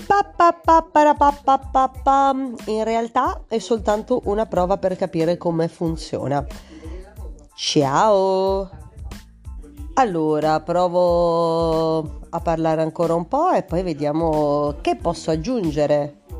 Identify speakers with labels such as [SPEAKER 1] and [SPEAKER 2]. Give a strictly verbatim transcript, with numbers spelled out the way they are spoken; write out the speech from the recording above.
[SPEAKER 1] Pa, pa, pa, para, pa, pa, pa, pa. In realtà è soltanto una prova per capire come funziona. Ciao! Allora, provo a parlare ancora un po' e poi vediamo che posso aggiungere.